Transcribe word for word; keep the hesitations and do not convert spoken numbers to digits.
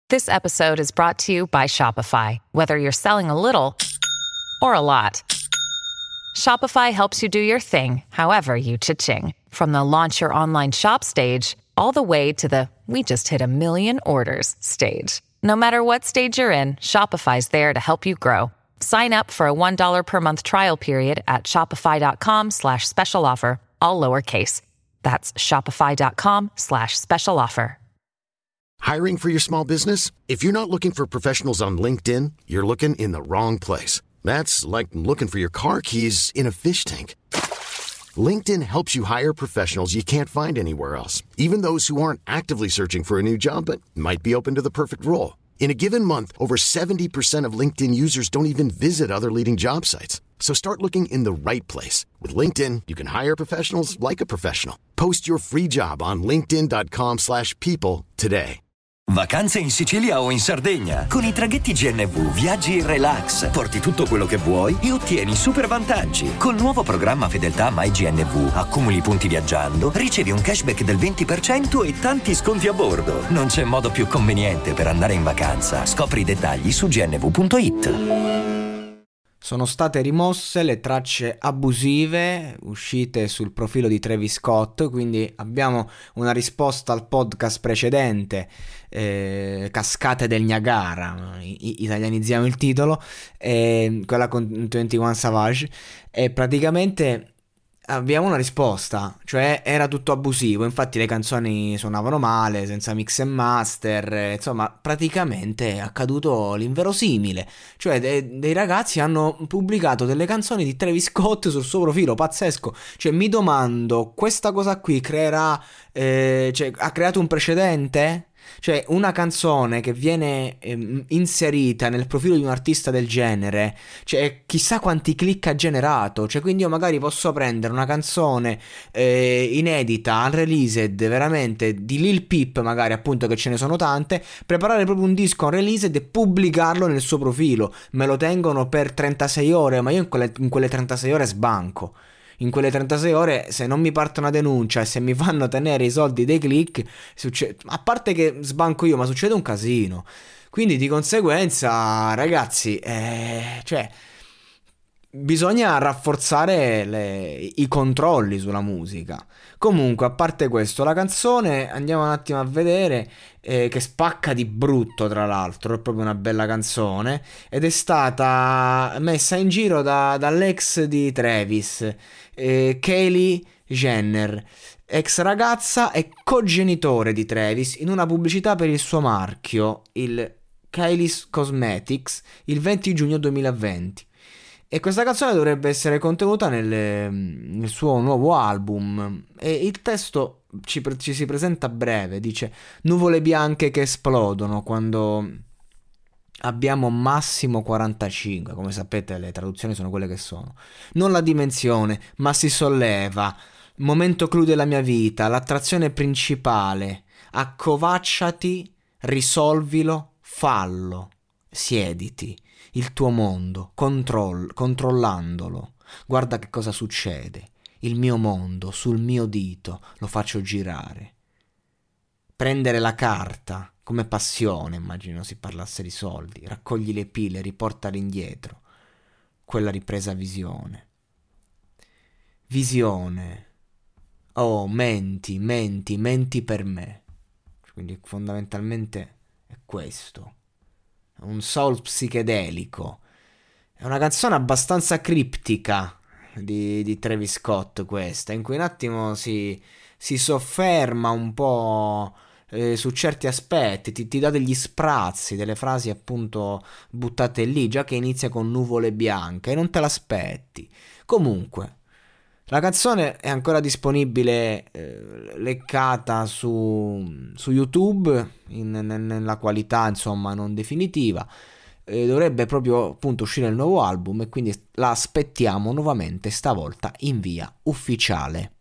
This episode is brought to you by Shopify. Whether you're selling a little or a lot, Shopify helps you do your thing, however you cha-ching. From the launch your online shop stage, all the way to the we just hit a million orders stage. No matter what stage you're in, Shopify's there to help you grow. Sign up for a one dollar per month trial period at shopify.com slash special offer, all lowercase. That's shopify.com slash special offer. Hiring for your small business? If you're not looking for professionals on LinkedIn, you're looking in the wrong place. That's like looking for your car keys in a fish tank. LinkedIn helps you hire professionals you can't find anywhere else, even those who aren't actively searching for a new job but might be open to the perfect role. In a given month, over seventy percent of LinkedIn users don't even visit other leading job sites. So start looking in the right place. With LinkedIn, you can hire professionals like a professional. Post your free job on linkedin.com slash people today. Vacanze in Sicilia o in Sardegna. Con i traghetti G N V viaggi in relax, porti tutto quello che vuoi e ottieni super vantaggi. Col nuovo programma Fedeltà MyGNV accumuli punti viaggiando, ricevi un cashback del venti per cento e tanti sconti a bordo. Non c'è modo più conveniente per andare in vacanza. Scopri i dettagli su g n v punto i t. Sono state rimosse le tracce abusive uscite sul profilo di Travis Scott, quindi abbiamo una risposta al podcast precedente, eh, Cascate del Niagara, I- italianizziamo il titolo, eh, quella con ventuno Savage, e praticamente abbiamo una risposta, cioè era tutto abusivo, infatti le canzoni suonavano male, senza mix e master, eh, insomma praticamente è accaduto l'inverosimile, cioè de- dei ragazzi hanno pubblicato delle canzoni di Travis Scott sul suo profilo, pazzesco, cioè mi domando, questa cosa qui creerà, eh, cioè ha creato un precedente? Cioè una canzone che viene ehm, inserita nel profilo di un artista del genere, cioè chissà quanti click ha generato, cioè quindi io magari posso prendere una canzone eh, inedita, unreleased, veramente di Lil Peep, magari appunto che ce ne sono tante, preparare proprio un disco unreleased e pubblicarlo nel suo profilo, me lo tengono per trentasei ore, ma io in quelle, in quelle trentasei ore sbanco. In quelle trentasei ore, se non mi parte una denuncia e se mi fanno tenere i soldi dei click, succede, a parte che sbanco io, ma succede un casino. Quindi di conseguenza, ragazzi, eh, cioè bisogna rafforzare le, i controlli sulla musica. Comunque, a parte questo, la canzone andiamo un attimo a vedere, eh, che spacca di brutto, tra l'altro, è proprio una bella canzone ed è stata messa in giro da, dall'ex di Travis, eh, Kylie Jenner, ex ragazza e cogenitore di Travis, in una pubblicità per il suo marchio, il Kylie's Cosmetics, il venti giugno duemilaventi. E questa canzone dovrebbe essere contenuta nel, nel suo nuovo album, e il testo ci, ci si presenta breve, dice: nuvole bianche che esplodono quando abbiamo massimo quarantacinque, come sapete le traduzioni sono quelle che sono, non la dimensione ma si solleva, momento clou della mia vita, l'attrazione principale, accovacciati, risolvilo, fallo, siediti, il tuo mondo, controll- controllandolo, guarda che cosa succede, il mio mondo sul mio dito lo faccio girare, prendere la carta come passione, immagino si parlasse di soldi, raccogli le pile, riportali indietro, quella ripresa visione, visione, oh menti, menti, menti per me, quindi fondamentalmente è questo. Un soul psichedelico, è una canzone abbastanza criptica di, di Travis Scott questa, in cui un attimo si, si sofferma un po' eh, su certi aspetti, ti, ti dà degli sprazzi, delle frasi appunto buttate lì, già che inizia con nuvole bianche e non te l'aspetti. Comunque la canzone è ancora disponibile, eh, leccata su, su YouTube in, nella qualità insomma non definitiva, eh, dovrebbe proprio appunto uscire il nuovo album e quindi la aspettiamo nuovamente, stavolta in via ufficiale.